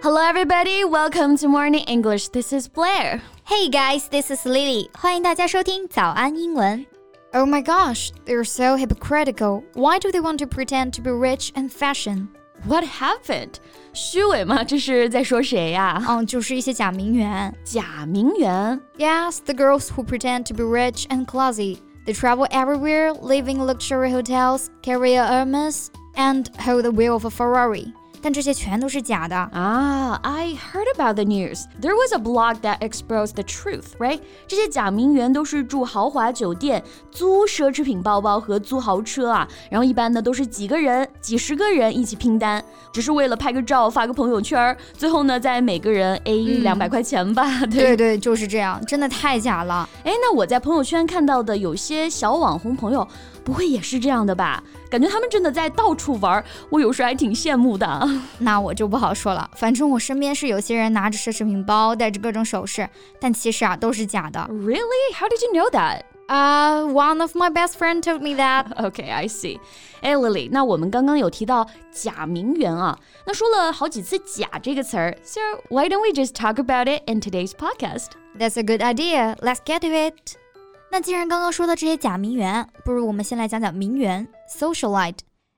Hello everybody, welcome to Morning English. This is Blair. Hey guys, this is Lily. 欢迎大家收听早安英文。Oh my gosh, they're so hypocritical. Why do they want to pretend to be rich and fashion? What happened? 虚伪吗？这是在说谁呀？ 就是一些假名媛。 假名媛？ Yes, the girls who pretend to be rich and classy. They travel everywhere, live in luxury hotels, carry a Hermes, and hold the wheel of a Ferrari.但这些全都是假的。 I heard about the news. There was a blog that exposed the truth, right? 这些假名媛都是住豪华酒店，租奢侈品包包和租豪车啊。然后一般呢都是几个人、几十个人一起拼单，只是为了拍个照、发个朋友圈，最后呢再每个人 A 200块钱吧。 对，就是这样，真的太假了。 那我在朋友圈看到的有些小网红朋友，不会也是这样的吧？感觉他们真的在到处玩，我有时还挺羡慕的。 那我就不好说了，反正我身边是有些人拿着奢侈品包，戴着各种首饰，但其实都是假的。 Really? How did you know that? One of my best friends told me that. Okay, I see. Lily, 那我们刚刚有提到假名媛啊，那说了好几次假这个词儿 So why don't we just talk about it in today's podcast? That's a good idea. Let's get to it. 那既然刚刚说到这些假名媛，不如我们先来讲讲名媛 socialite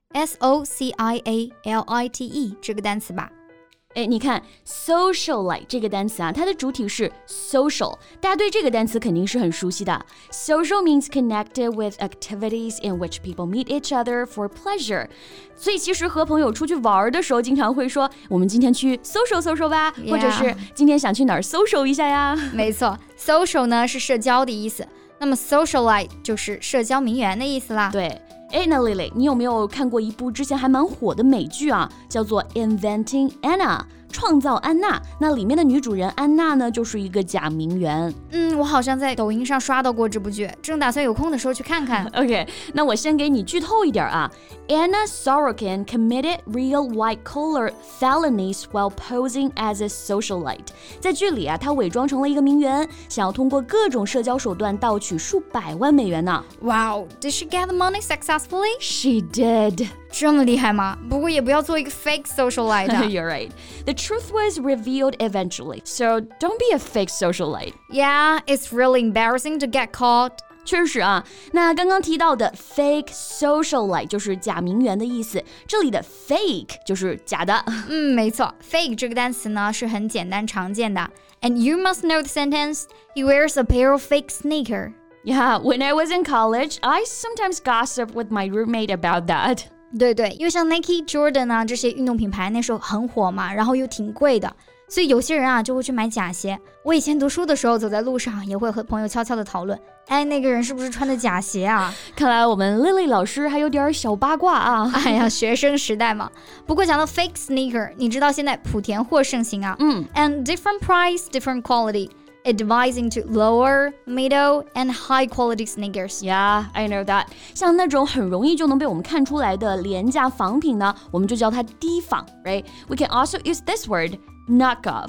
S-O-C-I-A-L-I-T-E 这个单词吧。 你看 socialite 这个单词啊，它的主体是 social， 大家对这个单词肯定是很熟悉的。Social means connected with activities in which people meet each other for pleasure。所以其实和朋友出去玩的时候，经常会说我们今天去 social 吧， 或者是今天想去哪儿 social 一下呀。 没错 social 呢是社交的意思，那么 socialite 就是社交名媛的意思啦。 对，那 Lily， 你有没有看过一部之前还蛮火的美剧啊，叫做 Inventing Anna， 创造安娜。那里面的女主人安娜呢，就是一个假名媛。 我好像在抖音上刷到过这部剧，正打算有空的时候去看看。 OK， 那我先给你剧透一点啊。Anna Sorokin committed real white-collar felonies while posing as a socialite。在剧里啊，她伪装成了一个名媛，想要通过各种社交手段盗取数百万美元呢。 Wow, did she get the money successfully? She did. 这么厉害吗？不过也不要做一个 fake socialite. You're right. The truth was revealed eventually, so don't be a fake socialite. Yeah, it's really embarrassing to get caught. 确实啊，那刚刚提到的 fake socialite 就是假名媛的意思，这里的 fake 就是假的。 没错 ，fake 这个单词呢是很简单常见的。And you must know the sentence, he wears a pair of fake sneakers. Yeah, when I was in college, I sometimes gossiped with my roommate about that. 对，因为像 Nike、Jordan 啊这些运动品牌那时候很火嘛，然后又挺贵的，所以有些人啊就会去买假鞋。我以前读书的时候，走在路上也会和朋友悄悄的讨论，那个人是不是穿的假鞋啊？ 看来我们 Lily 老师还有点小八卦啊。 哎呀，学生时代嘛。不过讲到 fake sneaker， 你知道现在莆田货盛行啊。And different price, different quality.It divides into lower, middle, and high quality sneakers. Yeah, I know that. 像那种很容易就能被我们看出来的廉价仿品呢，我们就叫它低仿 right? We can also use this word, knockoff.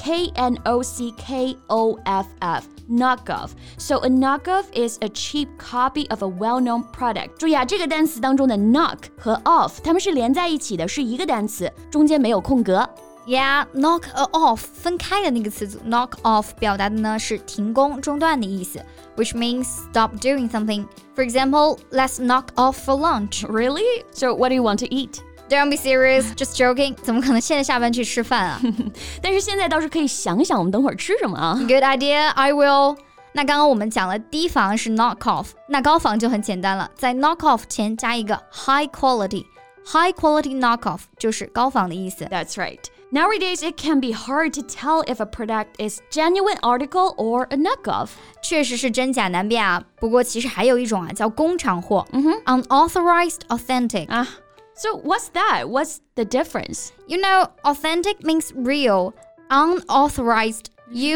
K-N-O-C-K-O-F-F. Knockoff. So a knockoff is a cheap copy of a well-known product. 注意啊，这个单词当中的 knock 和 off 它们是连在一起的，是一个单词，中间没有空格。 Yeah, knock off 分开的那个词组 knock off 表达的呢是停工中断的意思 which means stop doing something. For example, let's knock off for lunch. Really? So what do you want to eat? Don't be serious, just joking. 怎么可能现在下班去吃饭啊？ 但是现在倒是可以想想我们等会儿吃什么啊。 Good idea, I will. 那刚刚我们讲了低仿是 knock off， 那高仿就很简单了，在 knock off 前加一个 high quality。High quality knockoff 就是高仿的意思。 That's right.Nowadays, it can be hard to tell if a product is genuine article or a knockoff. 确实是真假难辨啊。不过其实还有一种啊，叫工厂货。Unauthorized authentic. So what's that? What's the difference? You know, authentic means real. Unauthorized,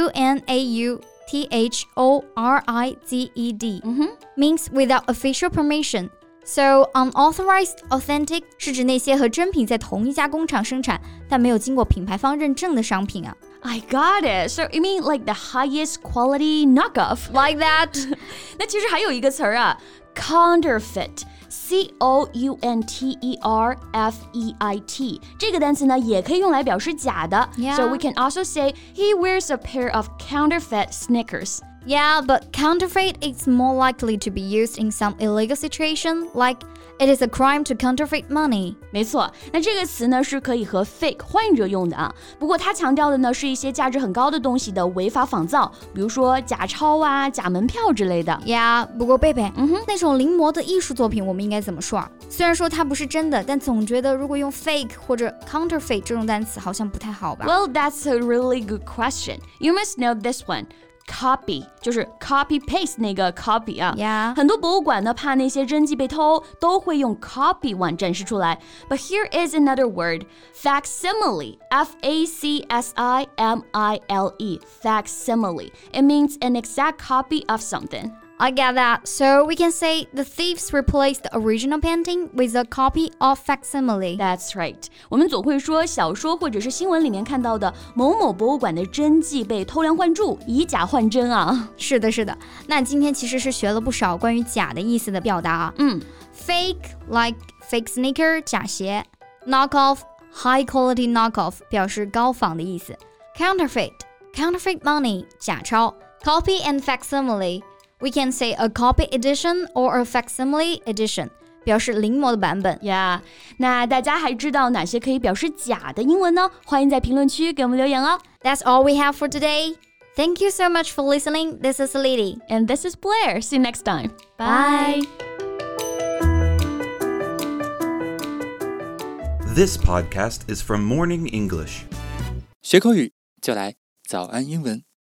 U-N-A-U-T-H-O-R-I-Z-E-D, means without official permission.So, unauthorized authentic 是指那些和真品在同一家工厂生产，但没有经过品牌方认证的商品啊。 I got it. So you mean like the highest quality knockoff? Like that. 那其实还有一个词儿啊 ，counterfeit. counterfeit 这个单词呢也可以用来表示假的 So we can also say he wears a pair of counterfeit sneakers Yeah, but counterfeit is more likely to be used in some illegal situation, like it is a crime to counterfeit money. 没错，那这个词呢是可以和 fake 换着用的啊。不过它强调的呢是一些价值很高的东西的违法仿造，比如说假钞啊、假门票之类的。 Yeah, 不过贝贝，那种临摹的艺术作品我们应该怎么说啊？虽然说它不是真的，但总觉得如果用 fake 或者 counterfeit 这种单词好像不太好吧 Well, that's a really good question. You must know this one.Copy 就是 copy paste 那个 copy 啊 Yeah. 很多博物馆呢怕那些真迹被偷都会用 copy 碗展示出来 But here is another word Facsimile F-A-C-S-I-M-I-L-E Facsimile It means an exact copy of something I get that. So we can say the thieves replaced the original painting with a copy of facsimile. That's right. 我们总会说小说或者是新闻里面看到的某某博物馆的真迹被偷梁换柱，以假换真啊。 是的，是的。那今天其实是学了不少关于假的意思的表达啊。Fake like fake sneaker 假鞋 ，knockoff high quality knockoff 表示高仿的意思 ，counterfeit money 假钞 ，copy and facsimile。We can say a copy edition or a facsimile edition 表示临摹的版本 Yeah 那大家还知道哪些可以表示假的英文呢？欢迎在评论区给我们留言哦 That's all we have for today. Thank you so much for listening. This is Lily. And this is Blair. See you next time. Bye. This podcast is from Morning English. 学口语就来早安英文。